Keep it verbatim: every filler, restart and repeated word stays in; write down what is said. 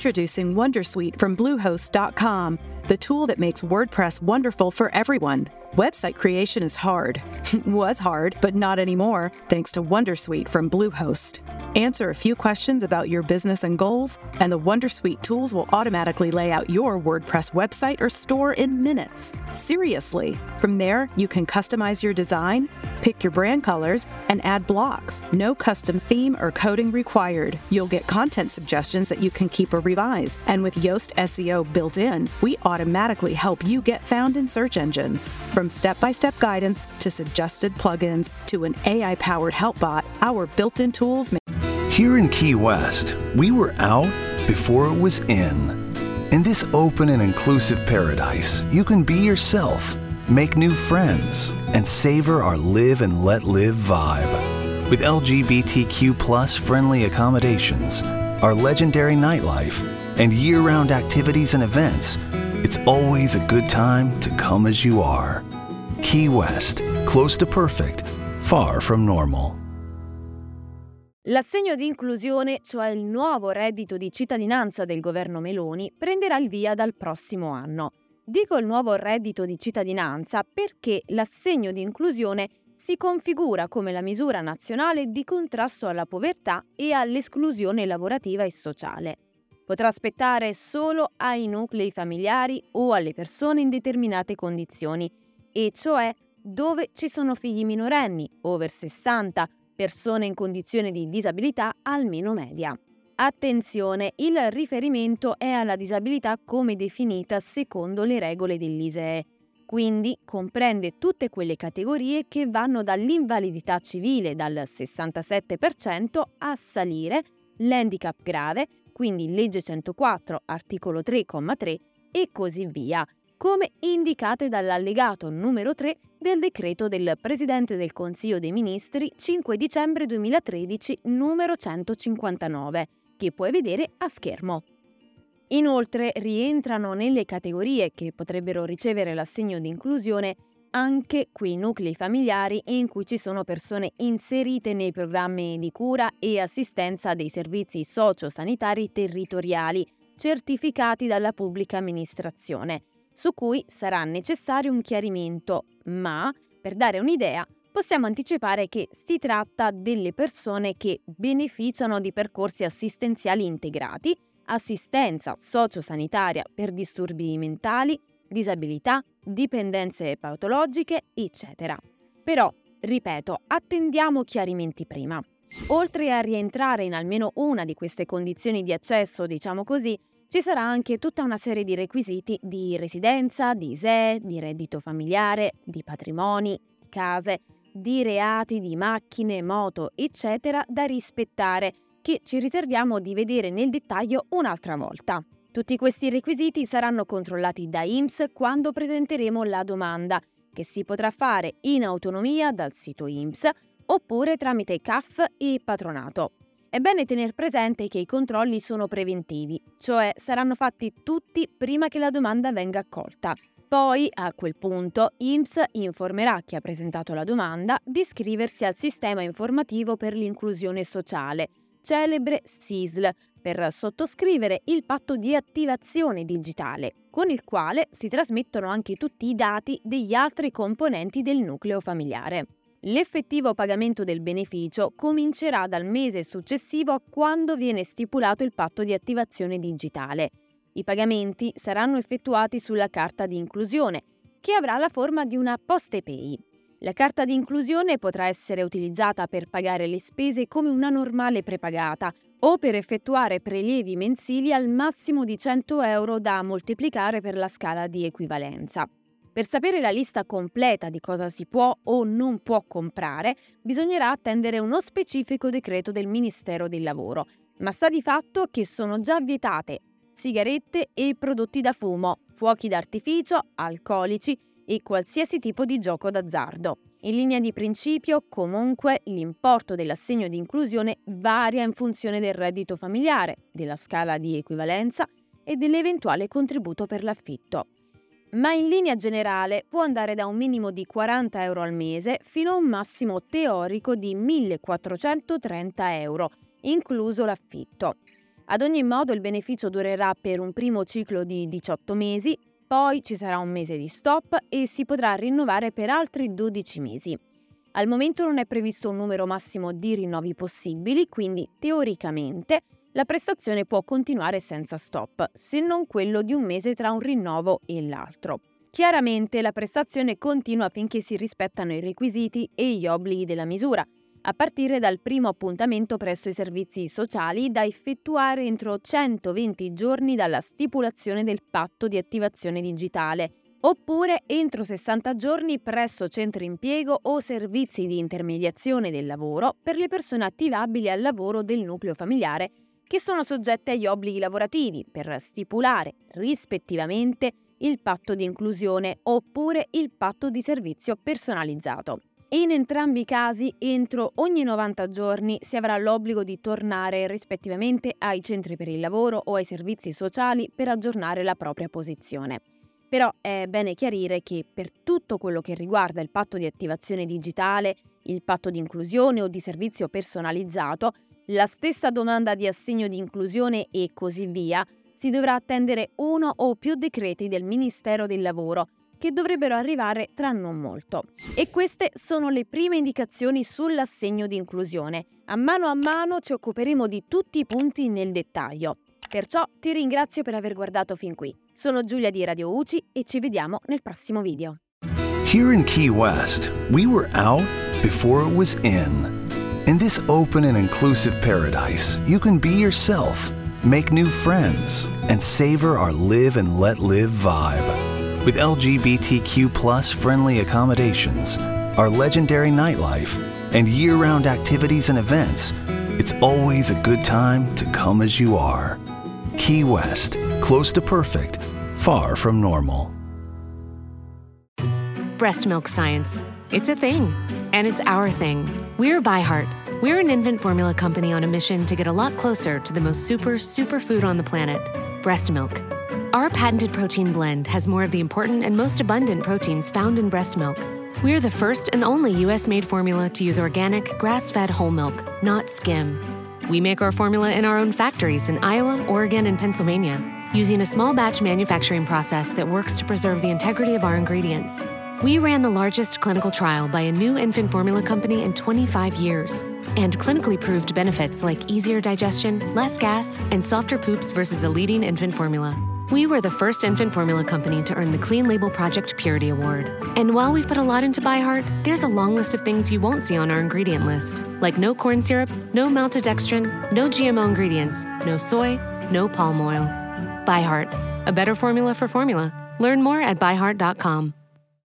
Introducing Wondersuite from Bluehost dot com, the tool that makes WordPress wonderful for everyone. Website creation is hard. Was hard, but not anymore, thanks to Wondersuite from Bluehost. Answer a few questions about your business and goals, and the Wondersuite tools will automatically lay out your WordPress website or store in minutes. Seriously. From there, you can customize your design, pick your brand colors, and add blocks. No custom theme or coding required. You'll get content suggestions that you can keep or revise. And with Yoast S E O built in, we automatically help you get found in search engines. From step-by-step guidance to suggested plugins to an A I-powered help bot, our built-in tools make Here in Key West, we were out before it was in. In this open and inclusive paradise, you can be yourself, make new friends, and savor our live and let live vibe. With L G B T Q plus friendly accommodations, our legendary nightlife, and year-round activities and events, it's always a good time to come as you are. Key West, close to perfect, far from normal. L'assegno di inclusione, cioè il nuovo reddito di cittadinanza del governo Meloni, prenderà il via dal prossimo anno. Dico il nuovo reddito di cittadinanza perché l'assegno di inclusione si configura come la misura nazionale di contrasto alla povertà e all'esclusione lavorativa e sociale. Potrà aspettare solo ai nuclei familiari o alle persone in determinate condizioni, e cioè dove ci sono figli minorenni, over sessanta, persone in condizione di disabilità almeno media. Attenzione, il riferimento è alla disabilità come definita secondo le regole dell'I S E E, quindi comprende tutte quelle categorie che vanno dall'invalidità civile dal sessantasette per cento a salire, l'handicap grave, quindi legge centoquattro, articolo tre, comma tre, e così via, come indicate dall'allegato numero tre del decreto del Presidente del Consiglio dei Ministri cinque dicembre duemilatredici numero centocinquantanove, che puoi vedere a schermo. Inoltre rientrano nelle categorie che potrebbero ricevere l'assegno di inclusione anche quei nuclei familiari in cui ci sono persone inserite nei programmi di cura e assistenza dei servizi socio-sanitari territoriali certificati dalla pubblica amministrazione, su cui sarà necessario un chiarimento, ma, per dare un'idea, possiamo anticipare che si tratta delle persone che beneficiano di percorsi assistenziali integrati, assistenza sociosanitaria per disturbi mentali, disabilità, dipendenze patologiche, eccetera. Però, ripeto, attendiamo chiarimenti prima. Oltre a rientrare in almeno una di queste condizioni di accesso, diciamo così, ci sarà anche tutta una serie di requisiti di residenza, di I S E E, di reddito familiare, di patrimoni, case, di reati, di macchine, moto, eccetera, da rispettare, che ci riserviamo di vedere nel dettaglio un'altra volta. Tutti questi requisiti saranno controllati da I N P S quando presenteremo la domanda, che si potrà fare in autonomia dal sito I N P S oppure tramite C A F e patronato. È bene tener presente che i controlli sono preventivi, cioè saranno fatti tutti prima che la domanda venga accolta. Poi, a quel punto, I N P S informerà chi ha presentato la domanda di iscriversi al Sistema Informativo per l'Inclusione Sociale, celebre S I S L, per sottoscrivere il patto di attivazione digitale, con il quale si trasmettono anche tutti i dati degli altri componenti del nucleo familiare. L'effettivo pagamento del beneficio comincerà dal mese successivo a quando viene stipulato il patto di attivazione digitale. I pagamenti saranno effettuati sulla carta di inclusione, che avrà la forma di una Postepay. La carta di inclusione potrà essere utilizzata per pagare le spese come una normale prepagata o per effettuare prelievi mensili al massimo di cento euro da moltiplicare per la scala di equivalenza. Per sapere la lista completa di cosa si può o non può comprare, bisognerà attendere uno specifico decreto del Ministero del Lavoro, ma sta di fatto che sono già vietate sigarette e prodotti da fumo, fuochi d'artificio, alcolici e qualsiasi tipo di gioco d'azzardo. In linea di principio, comunque, l'importo dell'assegno di inclusione varia in funzione del reddito familiare, della scala di equivalenza e dell'eventuale contributo per l'affitto. Ma in linea generale può andare da un minimo di quaranta euro al mese fino a un massimo teorico di millequattrocentotrenta euro, incluso l'affitto. Ad ogni modo il beneficio durerà per un primo ciclo di diciotto mesi, poi ci sarà un mese di stop e si potrà rinnovare per altri dodici mesi. Al momento non è previsto un numero massimo di rinnovi possibili, quindi teoricamente la prestazione può continuare senza stop, se non quello di un mese tra un rinnovo e l'altro. Chiaramente la prestazione continua finché si rispettano i requisiti e gli obblighi della misura, a partire dal primo appuntamento presso i servizi sociali da effettuare entro centoventi giorni dalla stipulazione del patto di attivazione digitale, oppure entro sessanta giorni presso centri impiego o servizi di intermediazione del lavoro per le persone attivabili al lavoro del nucleo familiare che sono soggette agli obblighi lavorativi per stipulare rispettivamente il patto di inclusione oppure il patto di servizio personalizzato. In entrambi i casi, entro ogni novanta giorni si avrà l'obbligo di tornare rispettivamente ai centri per il lavoro o ai servizi sociali per aggiornare la propria posizione. Però è bene chiarire che per tutto quello che riguarda il patto di attivazione digitale, il patto di inclusione o di servizio personalizzato, la stessa domanda di assegno di inclusione e così via, si dovrà attendere uno o più decreti del Ministero del Lavoro, che dovrebbero arrivare tra non molto. E queste sono le prime indicazioni sull'assegno di inclusione. A mano a mano ci occuperemo di tutti i punti nel dettaglio. Perciò ti ringrazio per aver guardato fin qui. Sono Giulia di Radio U C I e ci vediamo nel prossimo video. Here in Key West, we were out before it was in. In this open and inclusive paradise, you can be yourself, make new friends, and savor our live and let live vibe. With L G B T Q plus friendly accommodations, our legendary nightlife, and year-round activities and events, it's always a good time to come as you are. Key West, close to perfect, far from normal. Breast milk science. It's a thing, and it's our thing. We're ByHeart. We're an infant formula company on a mission to get a lot closer to the most super, super food on the planet, breast milk. Our patented protein blend has more of the important and most abundant proteins found in breast milk. We're the first and only U S-made formula to use organic, grass-fed whole milk, not skim. We make our formula in our own factories in Iowa, Oregon, and Pennsylvania, using a small batch manufacturing process that works to preserve the integrity of our ingredients. We ran the largest clinical trial by a new infant formula company in twenty-five years, and clinically proved benefits like easier digestion, less gas, and softer poops versus a leading infant formula. We were the first infant formula company to earn the Clean Label Project Purity Award. And while we've put a lot into ByHeart, there's a long list of things you won't see on our ingredient list, like no corn syrup, no maltodextrin, no G M O ingredients, no soy, no palm oil. ByHeart, a better formula for formula. Learn more at by heart dot com.